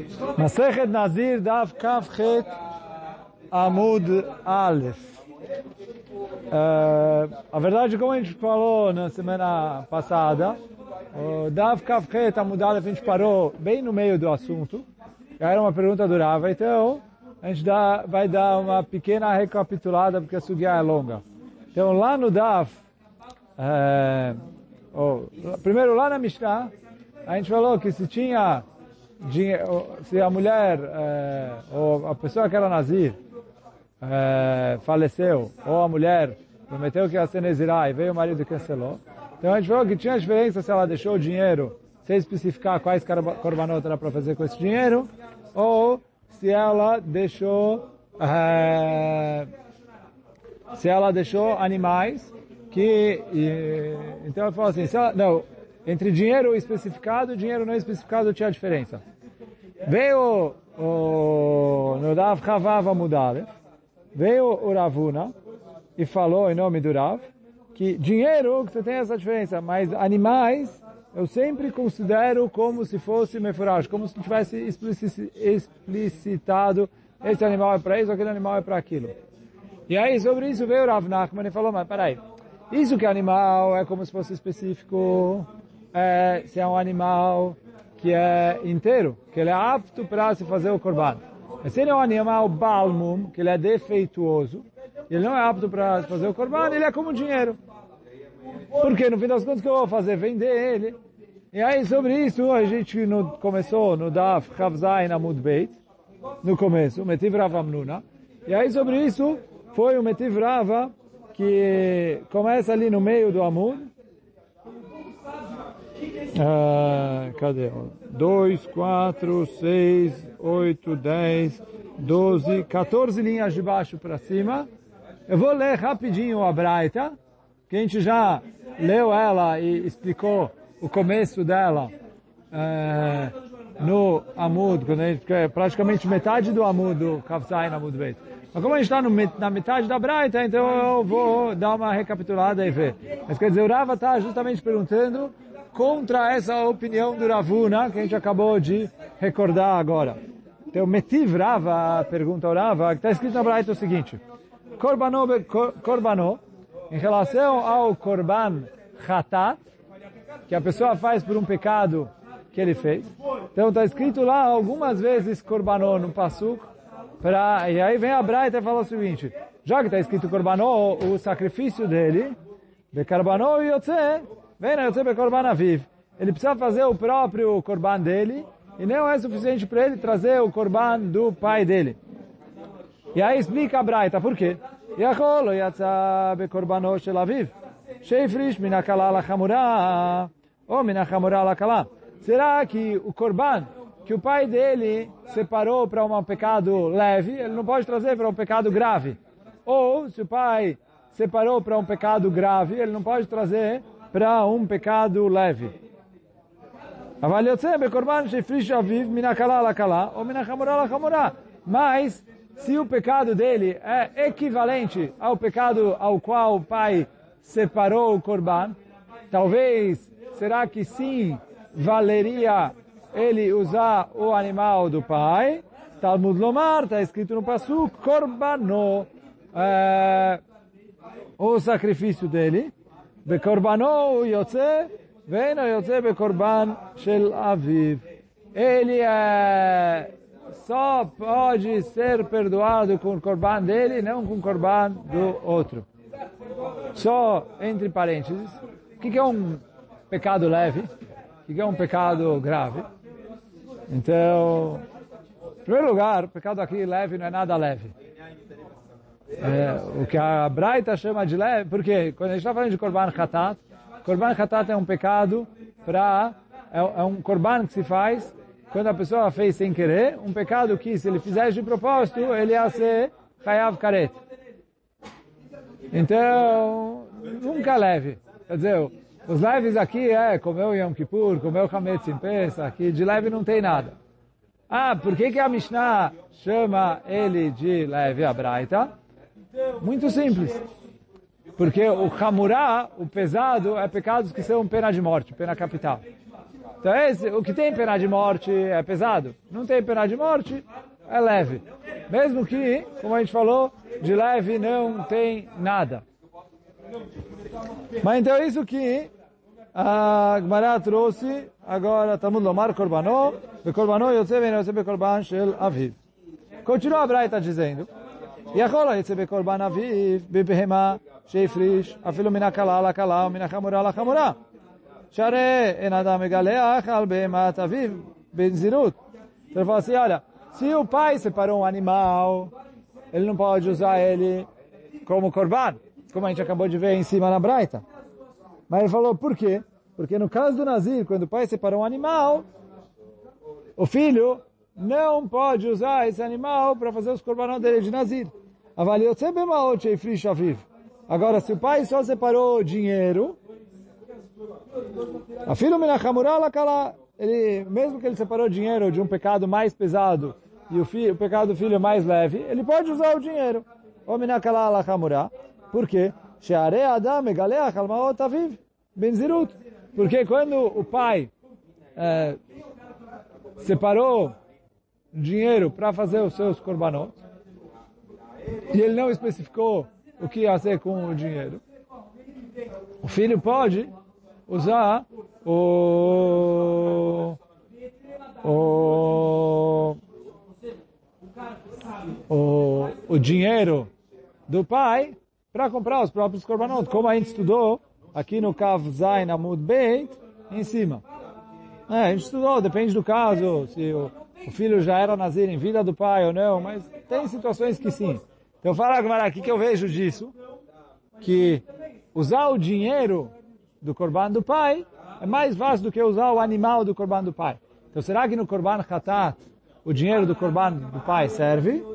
Masechet Nazir Daf Kaf Het Amud Aleph. A verdade, como a gente falou na semana passada, o Daf Kaf Het Amud Aleph a gente parou bem no meio do assunto. Era uma pergunta durava, então a gente vai dar uma pequena recapitulada porque a sugya é longa. Então lá no Daf, primeiro lá na Mishnah, a gente falou que se tinha se a mulher ou a pessoa que era nazir faleceu, ou a mulher prometeu que ia ser nezirá e veio o marido e cancelou, então a gente falou que tinha diferença se ela deixou o dinheiro sem especificar quais korbanot era para fazer com esse dinheiro, ou se ela deixou animais que então eu falo assim, entre dinheiro especificado e dinheiro não especificado tinha diferença. Veio no Rav Chavav Amud Aleph, veio o Ravuna e falou em nome do Rav que dinheiro que você tem essa diferença, mas animais eu sempre considero como se fosse mefurash, como se tivesse explicitado esse animal é para isso, aquele animal é para aquilo. E aí sobre isso veio o Rav Nachman e falou, mas peraí, isso que é animal é como se fosse específico, se é um animal que é inteiro, que ele é apto para se fazer o korban. Mas se ele é um animal balmum, que ele é defeituoso, ele não é apto para se fazer o korban, ele é como dinheiro. Porque no fim das contas o que eu vou fazer? Vender ele. E aí sobre isso a gente começou no Daf Chavzain Amud Beit, no começo, o Metiv Rav Amnuna. E aí sobre isso foi o Metiv Rava que começa ali no meio do Amud. Cadê? 2, 4, 6, 8, 10, 12, 14 linhas de baixo para cima. Eu vou ler rapidinho a Braita, que a gente já leu ela e explicou o começo dela no Amud, quando a gente, praticamente metade do Amud, do Kafzain Amud Beit. Mas como a gente está na metade da Braita, então eu vou dar uma recapitulada e ver. Mas quer dizer, o Rava está justamente perguntando contra essa opinião do Ravuna, que a gente acabou de recordar agora. Então, Metiv Rava, pergunta ao Rava, que está escrito na Braita o seguinte, Korbanó, em relação ao Korban Chatat, que a pessoa faz por um pecado que ele fez. Então, está escrito lá algumas vezes Korbanó no Pasuk, e aí vem a Braita e fala o seguinte, já que está escrito Korbanó, o sacrifício dele, Bekarbanó Yotze, ele precisa fazer o próprio korban dele e não é suficiente para ele trazer o korban do pai dele. E aí explica a Braita, por quê? Será que o korban que o pai dele separou para um pecado leve, ele não pode trazer para um pecado grave? Ou se o pai separou para um pecado grave, ele não pode trazer para um pecado leve. Mas, se o pecado dele é equivalente ao pecado ao qual o pai separou o korban, talvez, será que sim, valeria ele usar o animal do pai? Talmud Lomar, está escrito no Pasuk, korbanó, o sacrifício dele, Bekorbanou Yotze, Veino Yotze Bekorban Shel Aviv. Ele só pode ser perdoado com o korban dele, não com o korban do outro. Só entre parênteses, o que é um pecado leve? O que é um pecado grave? Então, em primeiro lugar, o pecado aqui leve não é nada leve. O que a Braita chama de leve, porque quando a gente está falando de Korban Chatat é um pecado é um Korban que se faz quando a pessoa fez sem querer, um pecado que se ele fizesse de propósito, ele ia ser Chayav Karet. Então, nunca leve. Quer dizer, os leves aqui comer o Yom Kippur, comer o Hametz em Pesach, aqui de leve não tem nada. Por que a Mishnah chama ele de leve, a Braita? Muito simples. Porque o Hamurá, o pesado, é pecados que são pena de morte, pena capital. Então o que tem pena de morte é pesado. Não tem pena de morte, é leve. Mesmo que, como a gente falou, de leve não tem nada. Mas então isso que a Gemara trouxe, agora Talmud Lomar Korbanó, Bekorbanó Yotze Ve'en Yotze Bekorban Shel Aviv. Continua a Braita dizendo, Yachol Yotze Bekorban Aviv, Bebehema, Sheifrish, Afilo Mina Kala La Kala, Mina Chamura La Chamura. Share En Adam Megaleach Al Behemat Aviv, Benzirut. Então ele fala assim, olha, se o pai separou um animal, ele não pode usar ele como korban, como a gente acabou de ver em cima na Braita. Mas ele falou, por quê? Porque no caso do Nazir, quando o pai separou um animal, o filho não pode usar esse animal para fazer os korbanot dele de Nazir. Agora, se o pai só separou dinheiro, a filho ele, mesmo que ele separou dinheiro de um pecado mais pesado e o pecado do filho mais leve, ele pode usar o dinheiro. Por quê? Porque quando o pai separou dinheiro para fazer os seus korbanot, e ele não especificou o que ia ser com o dinheiro, o filho pode usar o dinheiro do pai para comprar os próprios korbanot, como a gente estudou aqui no Kav Zayin Amud Beit, em cima. A gente estudou, depende do caso, se o filho já era nazir em vida do pai ou não, mas tem situações que sim. Então fala agora aqui que eu vejo disso, que usar o dinheiro do korban do pai é mais fácil do que usar o animal do korban do pai. Então será que no korban chatat o dinheiro do korban do pai serve?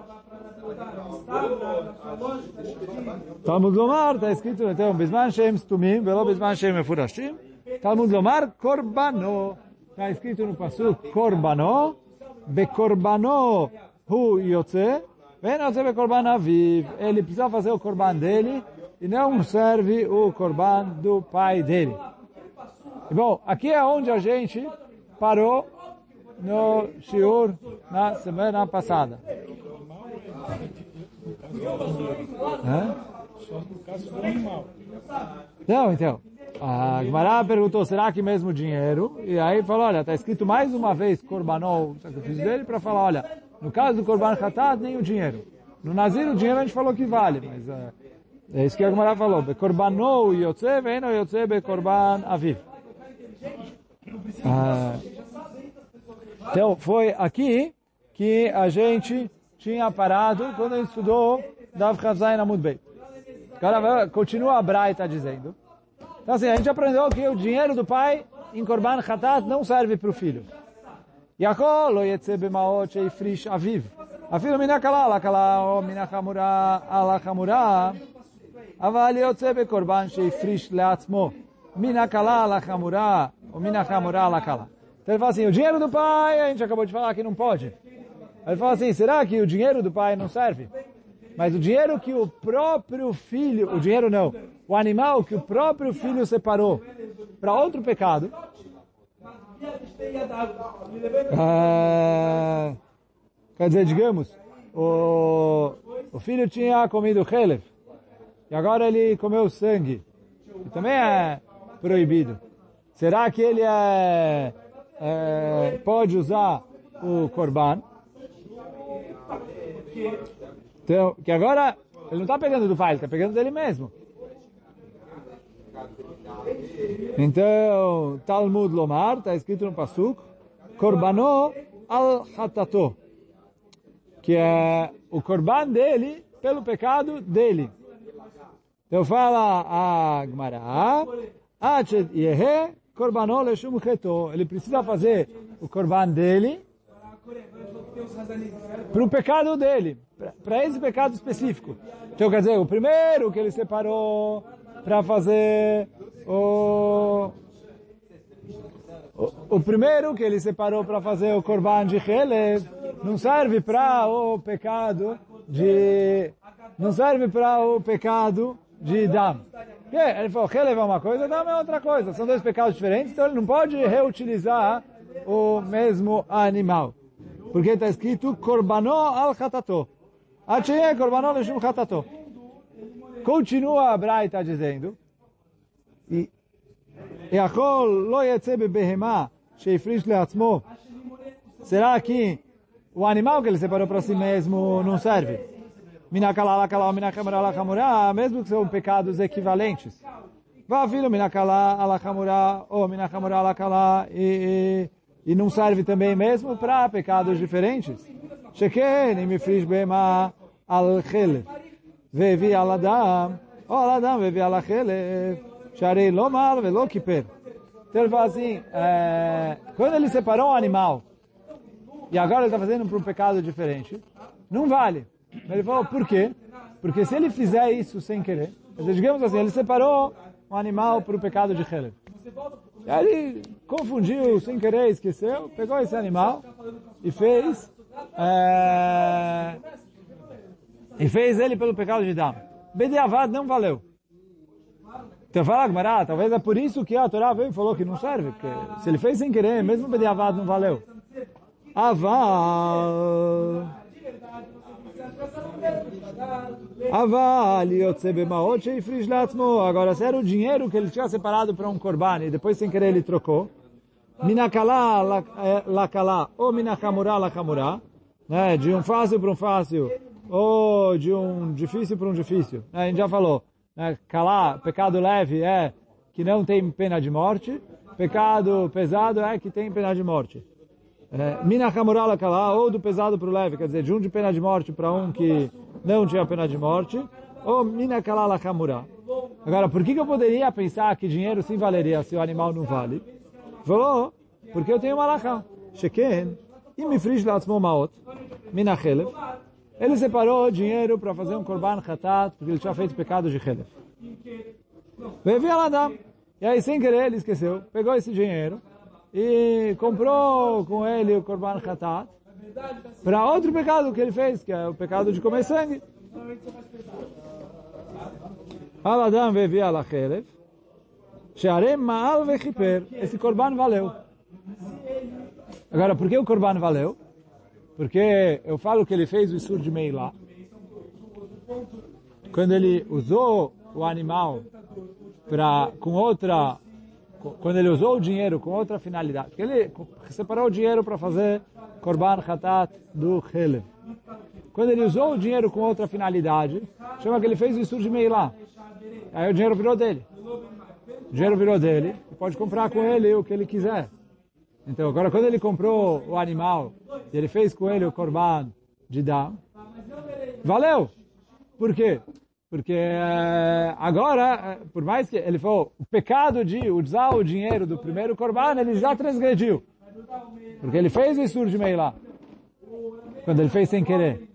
Talmud Lomar, está escrito, então, Bisman Shem Stumim, velo Bisman Shem Mefurashim. Talmud Lomar, Korbanó. Está escrito no Pasuk, Korbanó, Bekorbanó Hu Yotze, Ve'en Yotze Bekorban Aviv. Ele precisa fazer o korban dele e não serve o korban do pai dele. E bom, aqui é onde a gente parou no shiur na semana passada. Só no caso do animal. Não, então, a Gemara perguntou, será que mesmo dinheiro? E aí falou, olha, está escrito mais uma vez korbanol, o sacrifício dele, para falar, olha, no caso do korban chatat, nem o dinheiro. No Nazir, o dinheiro a gente falou que vale, mas é isso que a Gemara falou. Bekorbanol yotze, ve'eno yotze bekorban aviv. Então, foi aqui que a gente tinha parado quando a gente estudou Dav Chazayin Amud Beit. Agora continua a Braita dizendo. Então assim, a gente aprendeu que o dinheiro do pai em Korban Chatat não serve para o filho. Yachol lo yetze b'maot sheifrish aviv. Afilo mina kala la kala o mina chamura ala chamura. Aval yotze bekorban sheifrish leatzmo. Mina kala la chamura o mina chamura la kala. Então ele fala assim, o dinheiro do pai, a gente acabou de falar que não pode. Ele fala assim, será que o dinheiro do pai não serve? Mas o dinheiro que o próprio filho, o dinheiro não, o animal que o próprio filho separou para outro pecado, quer dizer, digamos, o filho tinha comido chelev, e agora ele comeu sangue, que também é proibido. Será que ele pode usar o korban? Então, que agora ele não está pegando do pai, ele está pegando dele mesmo. Então, Talmud Lomar, está escrito no Pasuk, Korbanó al Hatato, que é o korban dele pelo pecado dele. Então fala a Gemara, Korbanó leshum cheto, ele precisa fazer o korban dele para o pecado dele, para esse pecado específico. Então, quer dizer, o primeiro que ele separou para fazer o primeiro que ele separou para fazer o korban de chelev não serve para o pecado de dam. Ele falou, Chelev é uma coisa, Dam é outra coisa. São dois pecados diferentes, então ele não pode reutilizar o mesmo animal. Porque está escrito, Korbanó al Chatato. Achei Korbanó leshum Chatato. Continua a Braita dizendo, Yachol lo yetze bebehemá sheifrish leatzmo. Será que o animal que ele separou para si mesmo não serve? Minakala alakala ou minachamura alachamura, mesmo que são pecados equivalentes. Vafilo minakala alachamura ou minachamura alakala e não serve também mesmo para pecados diferentes. Sheken imifrish behemá al chelev. Vevi al adam, ou al adam vevi al chelev. Sharei lomar velo kiper. Então ele fala assim, quando ele separou um animal, e agora ele está fazendo para um pecado diferente, não vale. Ele falou, por quê? Porque se ele fizer isso sem querer, digamos assim, ele separou um animal para o pecado de Chelev. Aí ele confundiu, sem querer, esqueceu, pegou esse animal e fez ele pelo pecado de Dam. Bediavad não valeu. Então fala, Gmará, talvez é por isso que a Torá veio e falou que não serve, porque se ele fez sem querer, mesmo Bediavad não valeu. Aval agora, se era o dinheiro que ele tinha separado para um korban e depois sem querer ele trocou, minakala lakala ou minachamura lachamura, né, de um fácil para um fácil ou de um difícil para um difícil. A gente já falou, né, kalá, pecado leve é que não tem pena de morte, pecado pesado é que tem pena de morte. Minachamura lakala, ou do pesado para o leve, quer dizer, de um de pena de morte para um que não tinha pena de morte, ou minakala lachamura. Agora, por que eu poderia pensar que dinheiro sim valeria se o animal não vale? Falou, porque eu tenho uma lacha. Sheken, imifrish latzmo maot, minachelev. Ele separou dinheiro para fazer um korban chatat, porque ele tinha feito pecado de chelev. Veio Aladam. E aí, sem querer, ele esqueceu, pegou esse dinheiro e comprou com ele o korban chatat para outro pecado que ele fez, que é o pecado de comer sangue. Aladam veio ala chelev, shearem ma'al vechiper. Esse korban valeu. Agora, por que o korban valeu? Porque eu falo que ele fez o Isur de Meilá. Quando ele usou o animal quando ele usou o dinheiro com outra finalidade. Porque ele separou o dinheiro para fazer Korban Chatat do Chelev. Quando ele usou o dinheiro com outra finalidade, chama que ele fez o Isur de Meilá. Aí o dinheiro virou dele. O dinheiro virou dele, e pode comprar com ele o que ele quiser. Então, agora quando ele comprou o animal, e ele fez com ele o Korban de Dam, valeu! Por quê? Porque agora, por mais que ele falou, o pecado de usar o dinheiro do primeiro Korban, ele já transgrediu. Porque ele fez o Isur de Meilá. Quando ele fez sem querer.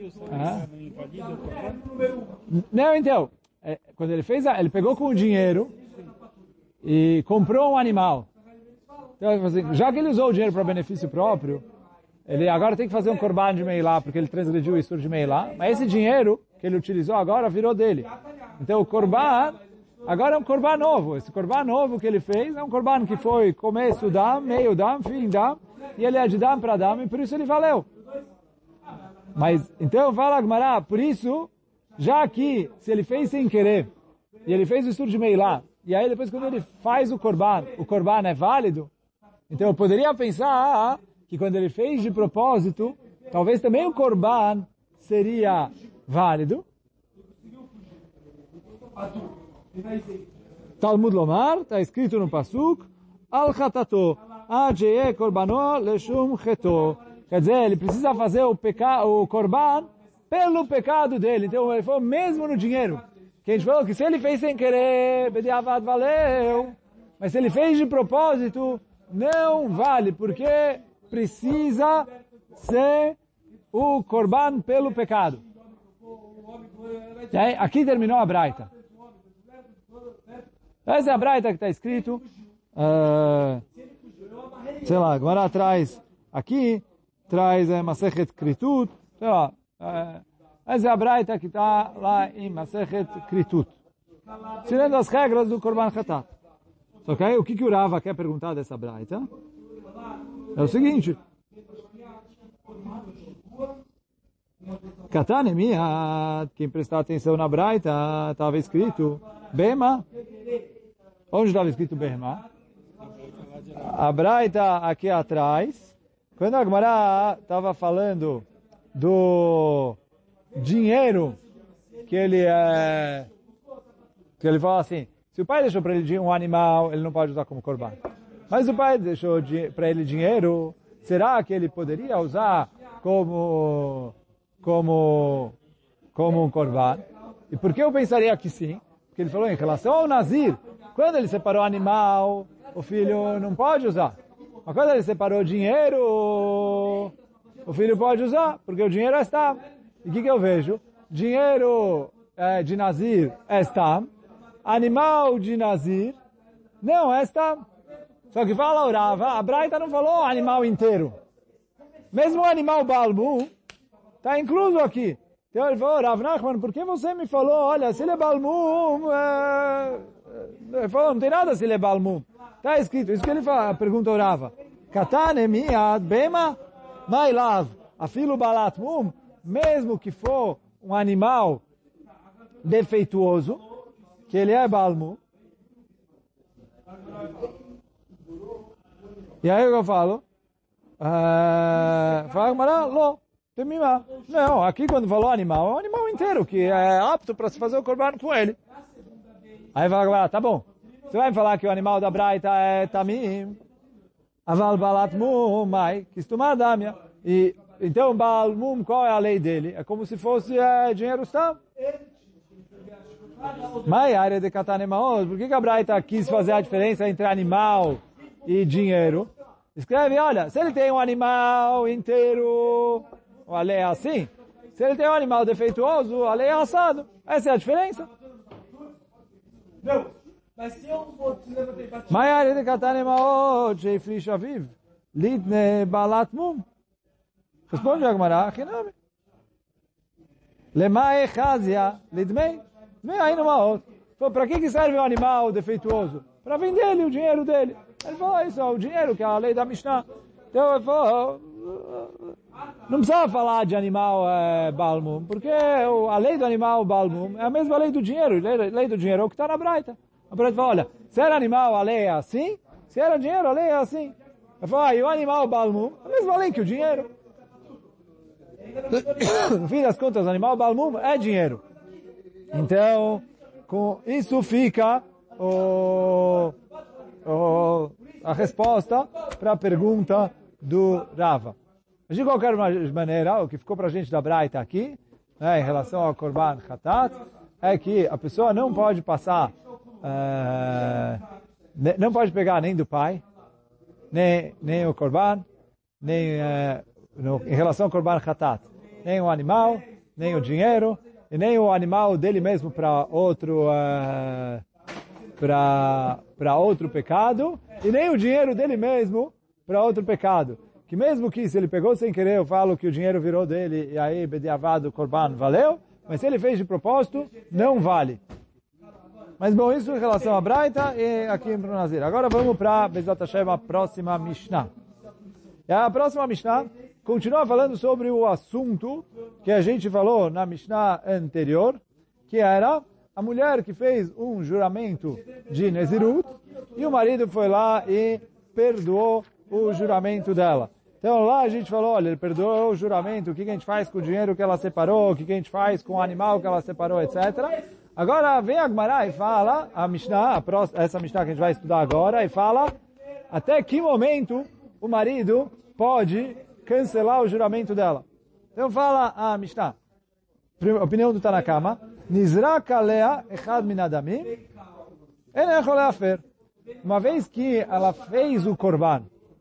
Não, então, quando ele fez, ele pegou com o dinheiro e comprou um animal. Então, já que ele usou o dinheiro para benefício próprio, ele agora tem que fazer um korban de Meilá, porque ele transgrediu o Isur de Meilá, mas esse dinheiro que ele utilizou agora virou dele. Então o korban, agora é um korban novo. Esse korban novo que ele fez é um korban que foi começo dam, meio dam, fim dam, e ele é de dam para dam, e por isso ele valeu. Mas, então fala Gmará, por isso, já que se ele fez sem querer, e ele fez o Isur de Meilá, e aí depois quando ele faz o korban é válido, então eu poderia pensar que quando ele fez de propósito, talvez também o korban seria válido. Talmud Lomar, está escrito no Pasuk, Al Chatato, Adjeye Korbanó Leshum Cheto. Quer dizer, ele precisa fazer o korban pelo pecado dele. Então ele falou mesmo no dinheiro. Que a gente falou que se ele fez sem querer, Bediavad valeu. Mas se ele fez de propósito, não vale, porque precisa ser o korban pelo pecado. E aí, aqui terminou a Braita. Essa é a Braita que está escrito, sei lá, agora traz, aqui, traz Masechet Kritut, sei lá, essa é a Braita que está lá em Masechet Kritut. seguindo as regras do Korban Khatat. Só que aí, o que o Rava quer perguntar dessa braita? É o seguinte. Katanemiat, quem prestar atenção na braita, estava escrito Bema. Onde estava escrito Bema? A braita aqui atrás, quando a Gemara estava falando do dinheiro que ele fala assim, se o pai deixou para ele um animal, ele não pode usar como korban. Mas o pai deixou para ele dinheiro, será que ele poderia usar como um korban? E por que eu pensaria que sim? Porque ele falou em relação ao Nazir, quando ele separou o animal, o filho não pode usar. Mas quando ele separou o dinheiro, o filho pode usar, porque o dinheiro é Stam. E o que eu vejo? Dinheiro de Nazir é Stam, animal de Nazir não é Stam. Só que fala o Rava, a Braita não falou animal inteiro. Mesmo o animal Balmu está incluso aqui. Então ele falou, Rav Nachman, por que você me falou, olha, se ele é Balmu, ele falou, não tem nada se ele é Balmu. Está escrito, isso que ele fala, pergunta o Rava. Katane miad bema mailav afilo balat mum, mesmo que for um animal defeituoso, que ele é Balmu. E aí eu falo, não, aqui quando falou animal, é um animal inteiro, que é apto para se fazer o korban com ele. Aí fala, tá bom, você vai me falar que o animal da Braita é Tamim, aval balat mum, mai, kistumar damia. E então, Balmum, qual é a lei dele? É como se fosse dinheiro Stam. Mai, área de Katanemaos, por que a Braita quis fazer a diferença entre animal e dinheiro? Escreve, olha, se ele tem um animal inteiro, a lei é assim. Se ele tem um animal defeituoso, a lei é assado. Essa é a diferença. Não, mas se eu vou te levantar para ti... Maiare de Katanemaot, Sheifrish Aviv, Litne Balat Mum. Responde a Gemara, Chinami. Lemae Chazia, Lidmei. Dmei aí numa outra. Para que serve um animal defeituoso? Para vender ele o dinheiro dele. Ele falou, isso é o dinheiro, que é a lei da Mishnah. Então ele falou, não precisava falar de animal Balmum, porque a lei do animal Balmum é a mesma lei do dinheiro. A lei do dinheiro é o que está na Braita. A Braita falou, olha, se era animal, a lei é assim. Se era dinheiro, a lei é assim. Ele falou, e o animal Balmum, a mesma lei que o dinheiro. No fim das contas, o animal Balmum é dinheiro. Então, com isso fica a resposta para a pergunta do Rava. Mas de qualquer maneira, o que ficou para a gente da Braita aqui, em relação ao Korban Khatat, é que a pessoa não pode passar, não pode pegar nem do pai, nem o Korban, nem em relação ao Korban Khatat, nem o animal, nem o dinheiro, e nem o animal dele mesmo para outro pecado, e nem o dinheiro dele mesmo para outro pecado. Que mesmo que se ele pegou sem querer, eu falo que o dinheiro virou dele, e aí bediavado o Korban valeu, mas se ele fez de propósito, não vale. Mas bom, isso em relação a Braita e aqui em Brunazir. Agora vamos para Bezat Hashem, a próxima Mishnah. E a próxima Mishnah continua falando sobre o assunto que a gente falou na Mishnah anterior, que era a mulher que fez um juramento de Nezirut e o marido foi lá e perdoou o juramento dela. Então lá a gente falou, olha, ele perdoou o juramento, o que a gente faz com o dinheiro que ela separou, o que a gente faz com o animal que ela separou, etc. Agora vem a Gemara e fala, a Mishnah, essa Mishnah que a gente vai estudar agora, e fala até que momento o marido pode cancelar o juramento dela. Então fala a Mishnah, opinião do Tanakama, Nizrak alea echad min adamim, en echol leafer. Uma vez que ela fez o korban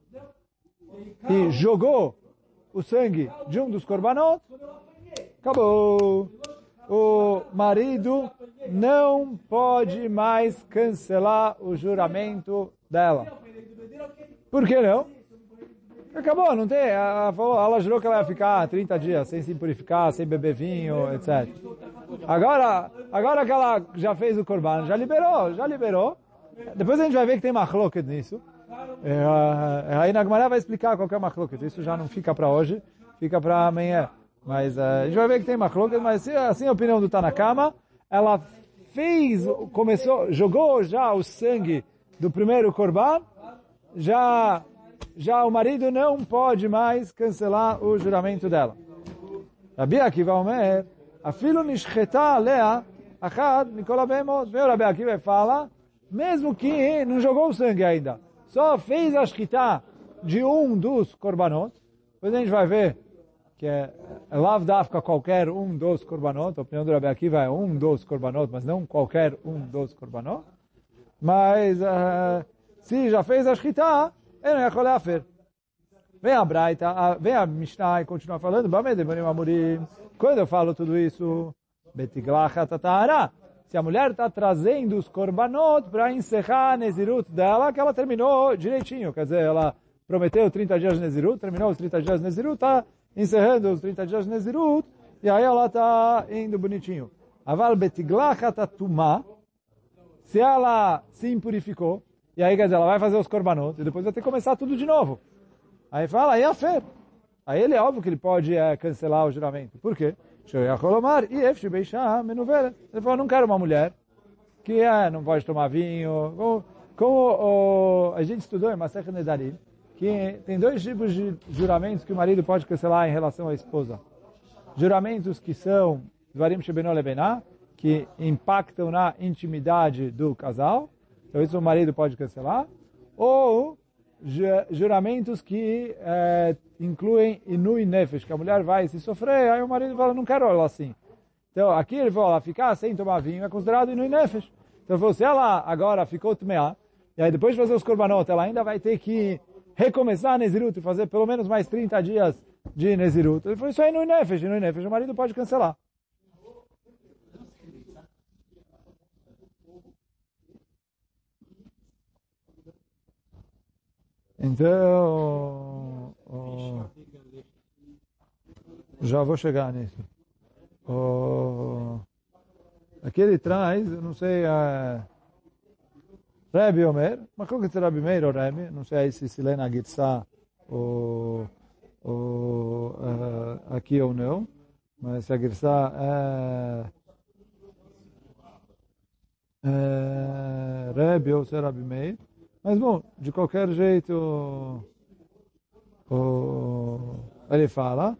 e jogou o sangue de um dos korbanot, acabou. O marido não pode mais cancelar o juramento dela. Por que não? Acabou, não tem. Ela jurou que ela ia ficar 30 dias sem se purificar, sem beber vinho, etc. Agora que ela já fez o korban, já liberou. Depois a gente vai ver que tem machloket nisso. Aí na Gemara vai explicar qual que é machloket. Isso já não fica para hoje, fica para amanhã. Mas a gente vai ver que tem machloket, mas assim a opinião do Tanakama, ela jogou já o sangue do primeiro korban, já o marido não pode mais cancelar o juramento dela. Rabi Akiva Omer, afilo nishcheta alea achad mikol habemot. Meu Rabi Akiva fala, mesmo que não jogou o sangue ainda, só fez a shchita de um dos korbanot, depois a gente vai ver que é lav dafka qualquer um dos korbanot, a opinião do Rabi Akiva é um dos korbanot, mas não qualquer um dos korbanot. Mas se já fez a shchita, ele não ia colher a fer. Vem a Braita, vem a Mishnah e continua falando, quando eu falo tudo isso, se a mulher está trazendo os korbanot para encerrar a Nezirut dela, que ela terminou direitinho, quer dizer, ela prometeu 30 dias de Nezirut, terminou os 30 dias de Nezirut, está encerrando os 30 dias de Nezirut, e aí ela está indo bonitinho. Aval betiglachat atumah, se ela se impurificou, e aí, quer dizer, ela vai fazer os korbanot, e depois vai ter que começar tudo de novo. Aí fala, aí é fer. Aí ele é óbvio que ele pode cancelar o juramento. Por quê? Ele falou, não quero uma mulher que não pode tomar vinho. Como a gente estudou em Masechet Nedarim, que tem dois tipos de juramentos que o marido pode cancelar em relação à esposa. Juramentos que são Dvarim Shebeno Lebená, que impactam na intimidade do casal. Então isso o marido pode cancelar. Ou juramentos que incluem inui nefesh, que a mulher vai se sofrer, aí o marido fala, não quero ela assim. Então aqui ele falou, ela ficar sem tomar vinho é considerado inui nefesh. Então ele falou, se ela agora ficou tmeá, e aí depois de fazer os korbanot, ela ainda vai ter que recomeçar a Nezirut e fazer pelo menos mais 30 dias de Nezirut. Ele falou, isso é inui nefesh, o marido pode cancelar. Então, já vou chegar nisso. Aqui ele traz, eu não sei, Rebbe Omer, mas como que é Rebbe Meir ou Rebbe? Não sei se lê na Gitzá aqui ou não, mas se a Gitzá é Rebbe ou se é Rebbe Meir. Mas bom, de qualquer jeito, ele fala,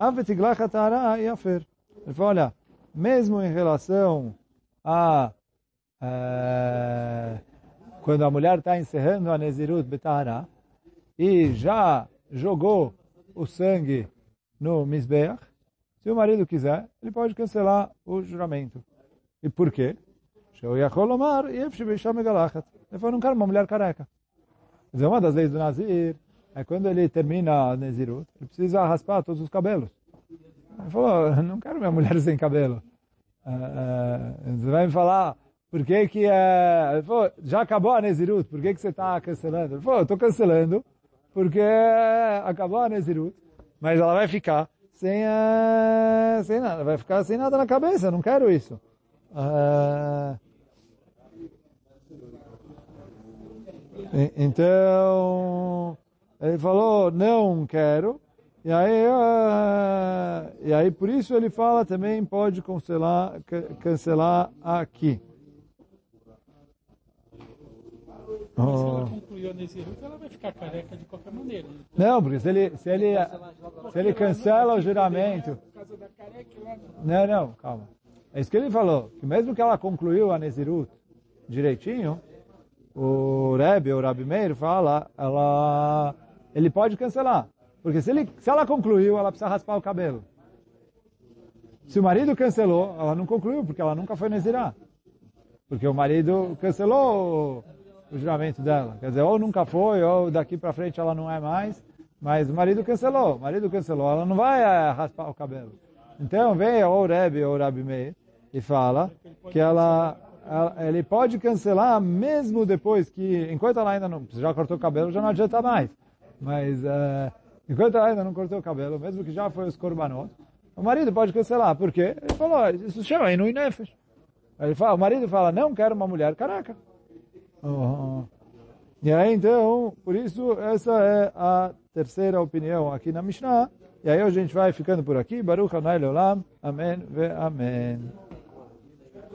ele fala, olha, mesmo em relação a quando a mulher está encerrando a Nezirut Betahara e já jogou o sangue no Mizbeach, se o marido quiser, ele pode cancelar o juramento. E por quê? Ele falou, não quero uma mulher careca. Quer dizer, uma das leis do Nazir é quando ele termina a Nezirut, ele precisa raspar todos os cabelos. Ele falou, não quero minha mulher sem cabelo. Você vai me falar, por que que ele falou, já acabou a Nezirut, por que que você está cancelando? Ele falou, eu estou cancelando porque acabou a Nezirut, mas ela vai ficar sem nada, vai ficar sem nada na cabeça, eu não quero isso. Então, ele falou, não quero, e aí por isso ele fala também pode cancelar aqui. Se ela concluiu a Nezirut, ela vai ficar careca de qualquer maneira. Não, porque se ele cancela o juramento... Não, calma. É isso que ele falou, que mesmo que ela concluiu a Nezirut direitinho, o Rebbe, o Rabi Meir, fala, ele pode cancelar. Porque se ela concluiu, ela precisa raspar o cabelo. Se o marido cancelou, ela não concluiu, porque ela nunca foi Nezirá. Porque o marido cancelou o juramento dela. Quer dizer, ou nunca foi, ou daqui para frente ela não é mais. Mas o marido cancelou, ela não vai raspar o cabelo. Então vem o Rebbe ou o Rabi Meir e fala que ele pode cancelar mesmo depois que, enquanto ela ainda não, já cortou o cabelo, já não adianta mais. Mas enquanto ela ainda não cortou o cabelo, mesmo que já foi os korbanot, o marido pode cancelar. Por quê? Ele falou, isso chama Inui Nefesh. O marido fala, não quero uma mulher caraca. E aí, então, por isso, essa é a terceira opinião aqui na Mishnah. E aí a gente vai ficando por aqui. Baruch Adonai Leolam. Amém ve amém.